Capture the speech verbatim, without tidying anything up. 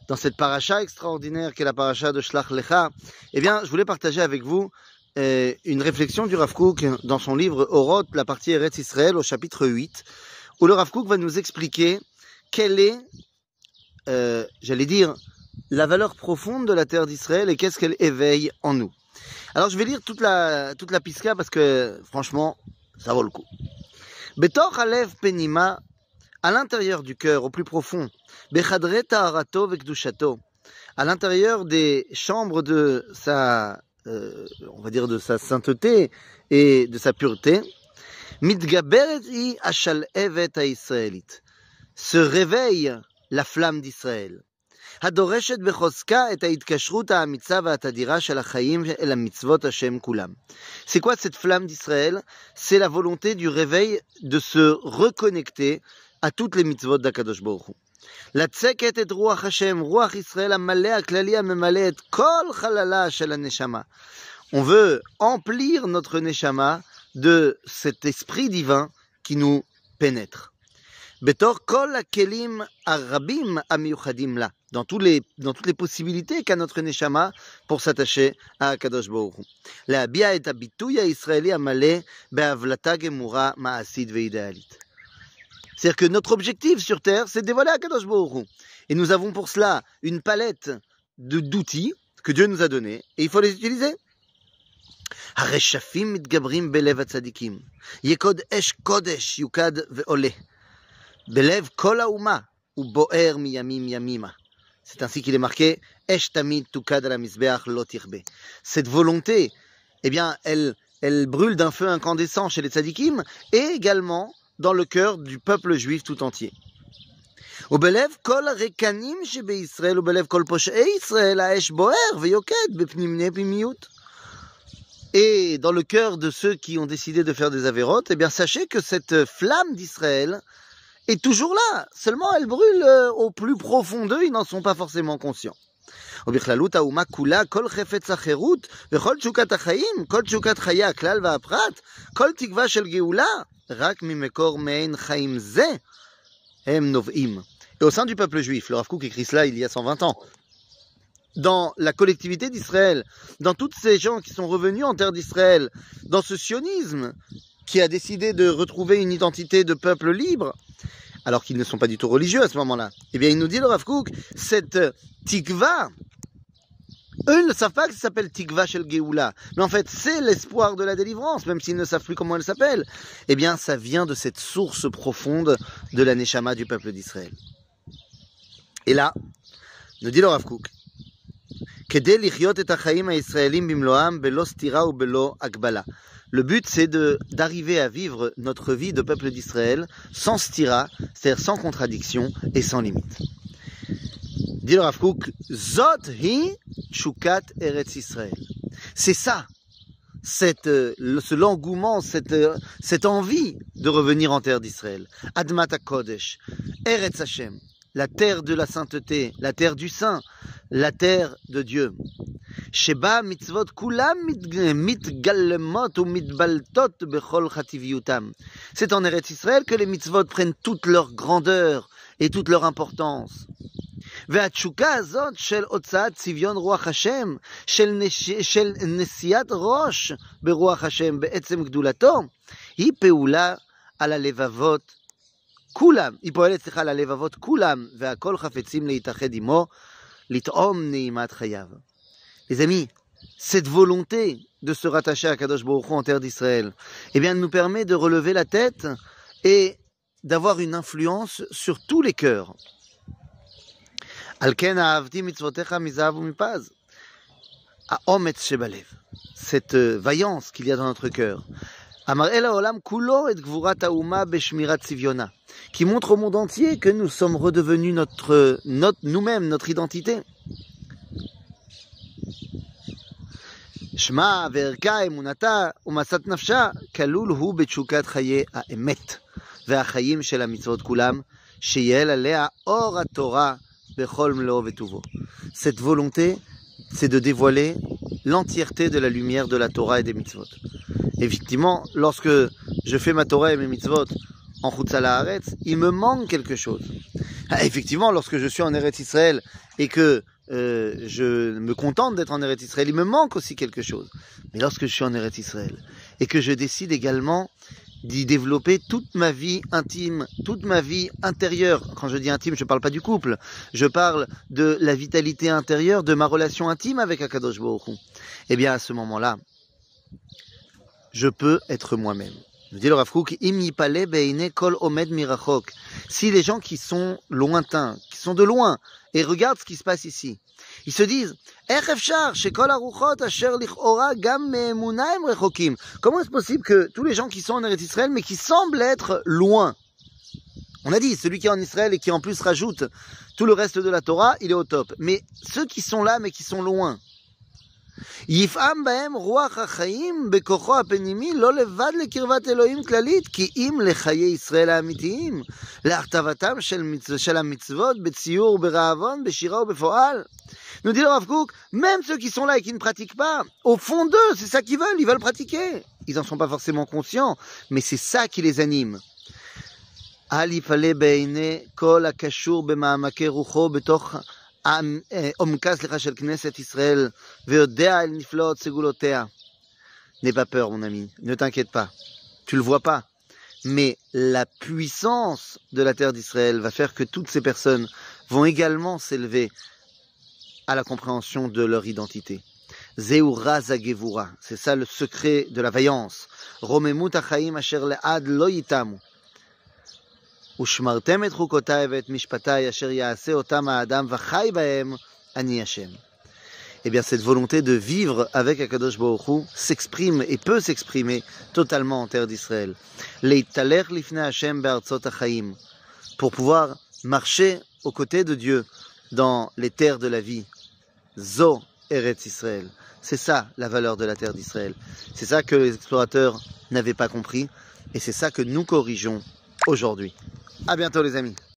dans cette paracha extraordinaire qu'est la paracha de Shlach Lecha, eh bien, je voulais partager avec vous euh, une réflexion du Rav Kook dans son livre Oroth, la partie Eretz Israël, au chapitre huit, où le Rav Kook va nous expliquer quelle est, euh, j'allais dire, la valeur profonde de la terre d'Israël et qu'est-ce qu'elle éveille en nous. Alors, je vais lire toute la, toute la piska parce que, franchement, ça vaut le coup. Betor Alev Penima, à l'intérieur du cœur, au plus profond, Bechadre Taharato Vekdushato, à l'intérieur des chambres de sa, euh, on va dire de sa sainteté et de sa pureté, Mitgaberet I Ashal Evet HaIsraelit, se réveille la flamme d'Israël. הדורשת בחוזקה את ההתקשרות האמיצה והתדירה של החיים אל המצוות השם כולם. C'est quoi cette flamme d'Israël? C'est la volonté du réveil de se reconnecter à toutes les mitzvot d'Akadosh Baruch Hu. לצקת את רוח השם, רוח ישראל המלא הכללי הממלא את כל חללה של הנשמה. On veut emplir notre neshama de cet esprit divin qui nous pénètre. בתור כל הכלים הרבים המיוחדים לה, dans, tous les, dans toutes les possibilités qu'a notre neshama pour s'attacher à הקדוש ברוך הוא. להביע את הביטוי הישראלי המלא בהבלטה גמורה מעשית ואידיאלית. C'est-à-dire que notre objectif sur Terre, c'est de dévoiler הקדוש ברוך הוא. Et nous avons pour cela une palette de, d'outils que Dieu nous a donnés, et il faut les utiliser. הרשפים מתגברים בלב הצדיקים. יקוד אש קודש יוקד ועולה. בלב כל האומה ובוער מימים ימימה. C'est ainsi qu'il est marqué Esh tamid tukad ala mizbeach lo tichbe. Cette volonté, eh bien, elle, elle brûle d'un feu incandescent chez les tzadikim et également dans le cœur du peuple juif tout entier. ובלב כל הרקנים שבישראל ובלב כל פושעי ישראל האש בוער ויוקד בפנימי פנימיות. Et dans le cœur de ceux qui ont décidé de faire des avérotes, eh bien, sachez que cette flamme d'Israël est toujours là, seulement elle brûle euh, au plus profond d'eux, ils n'en sont pas forcément conscients. ובכללות האומה כולה, כל חפץ החירות, וכל תשוקת החיים, כל תשוקת חיי הכלל והפרט, כל תקווה של גאולה, רק ממקור מעין חיים זה, הם נובעים. Et au sein du peuple juif, le Rav Kook écrit cela il y a cent vingt ans, dans la collectivité d'Israël, dans toutes ces gens qui sont revenus en terre d'Israël, dans ce sionisme qui a décidé de retrouver une identité de peuple libre, alors qu'ils ne sont pas du tout religieux à ce moment-là, eh bien, il nous dit, le Rav Kook, cette tikva, eux, ils ne savent pas que ça s'appelle tikva shel Geoula, mais en fait, c'est l'espoir de la délivrance, même s'ils ne savent plus comment elle s'appelle. Eh bien, ça vient de cette source profonde de la neshama du peuple d'Israël. Et là, nous dit le Rav Kook, כדי לחיות את החיים הישראלים במלואם בלא סתירה ובלא הגבלה. Le but, c'est de, d'arriver à vivre notre vie de peuple d'Israël sans stira, c'est-à-dire sans contradiction et sans limite. Dit le Rav Kook, Zot hi shukat Eretz Israël. C'est ça, cette, ce l'engouement, cette, cette envie de revenir en terre d'Israël. Admat HaKodesh, Eretz Hashem, la terre de la sainteté, la terre du saint, la terre de Dieu. שבה מצוות כולם מתגלמות ומתבלטות בכל חטיביותם. C'est en Eretz Israël que les mitzvot prennent toute leur grandeur et toute leur importance. והתשוקה הזאת של הוצאת צביון רוח השם, של, נש... של נשיאת ראש ברוח השם בעצם גדולתו, היא פעולה על הלבבות כולם, היא פועלת סליחה על הלבבות כולם, והכל חפצים להתאחד עמו, לטעום נעימת חייו. Les amis, cette volonté de se rattacher à Kadosh Baruch Hu en terre d'Israël, eh bien, nous permet de relever la tête et d'avoir une influence sur tous les cœurs. Al ken ahavti mitzvotecha mizahav umipaz. Ha'ometz shebalev. Cette vaillance qu'il y a dans notre cœur. Amar el haolam kulo et gvurat hauma beshmirat tzivyona. Qui montre au monde entier que nous sommes redevenus notre, notre, nous-mêmes, notre identité. שמה וערכה, אמונתה ומסת נפשה, כלול הוא בתשוקת חיי האמת והחיים של המצוות כולם, שיהיה עליה אור התורה בכל מלואו וטובו. Cette volonté, c'est de dévoiler l'entièreté de la lumière de la Torah et des mitzvot. Effectivement, lorsque je fais ma Torah et mes mitzvot en Chutz Haaretz, il me manque quelque chose. Ah, effectivement, lorsque je suis en Eretz Israël et que euh, je me contente d'être en Eretz Israël, il me manque aussi quelque chose. Mais lorsque je suis en Eretz Israël et que je décide également d'y développer toute ma vie intime, toute ma vie intérieure. Quand je dis intime, je ne parle pas du couple. Je parle de la vitalité intérieure, de ma relation intime avec Akadosh Baruch Hu. Eh bien, à ce moment-là, je peux être moi-même. Nous dit le Rav Kook, Im yipale beine kol omed mirachok. Si les gens qui sont lointains, qui sont de loin, et regardent ce qui se passe ici, ils se disent, comment est-ce possible que tous les gens qui sont en Eretz Israël, mais qui semblent être loin? On a dit, celui qui est en Israël et qui en plus rajoute tout le reste de la Torah, il est au top. Mais ceux qui sont là, mais qui sont loin, יפעם בהם רוח החיים בכוחו הפנימי לא לבד לקרבת אלוהים כללית כי אם לחיי ישראל האמיתיים להכתבתם של, מצ... של המצוות בציור, ברעבון, בשירה ובפועל. Nous dit le Rav Kook, même ceux qui sont là et qui ne pratiquent pas, au fond d'eux, c'est ça qu'ils veulent, ils veulent pratiquer. Ils n'en sont pas forcément conscients, mais c'est ça qui les anime. אל יפלא בעיני כל הקשור במעמקי רוחו בתוך עומקה סליחה של כנסת ישראל ויודע אל נפלאות סגולותיה. N'aie pas peur mon ami, ne t'inquiète pas, tu le vois pas, mais la puissance de la terre d'Israël va faire que toutes ces personnes vont également s'élever à la compréhension de leur identité. Zeu raz hagevura, c'est ça le secret de la vaillance. Romemut hachaim asher le'ad lo yitamu. ושמרתם את חוקותיי ואת משפטיי אשר יעשה אותם האדם וחי בהם אני השם. Eh bien, cette volonté de vivre avec Akadosh Baruch Hu s'exprime et peut s'exprimer totalement en terre d'Israël. Leitalech lifnei Hashem be'artzot hachaim, pour pouvoir marcher aux côtés de Dieu dans les terres de la vie. Zo Eretz Israël. C'est ça la valeur de la terre d'Israël. C'est ça que les explorateurs n'avaient pas compris et c'est ça que nous corrigeons aujourd'hui. À bientôt les amis.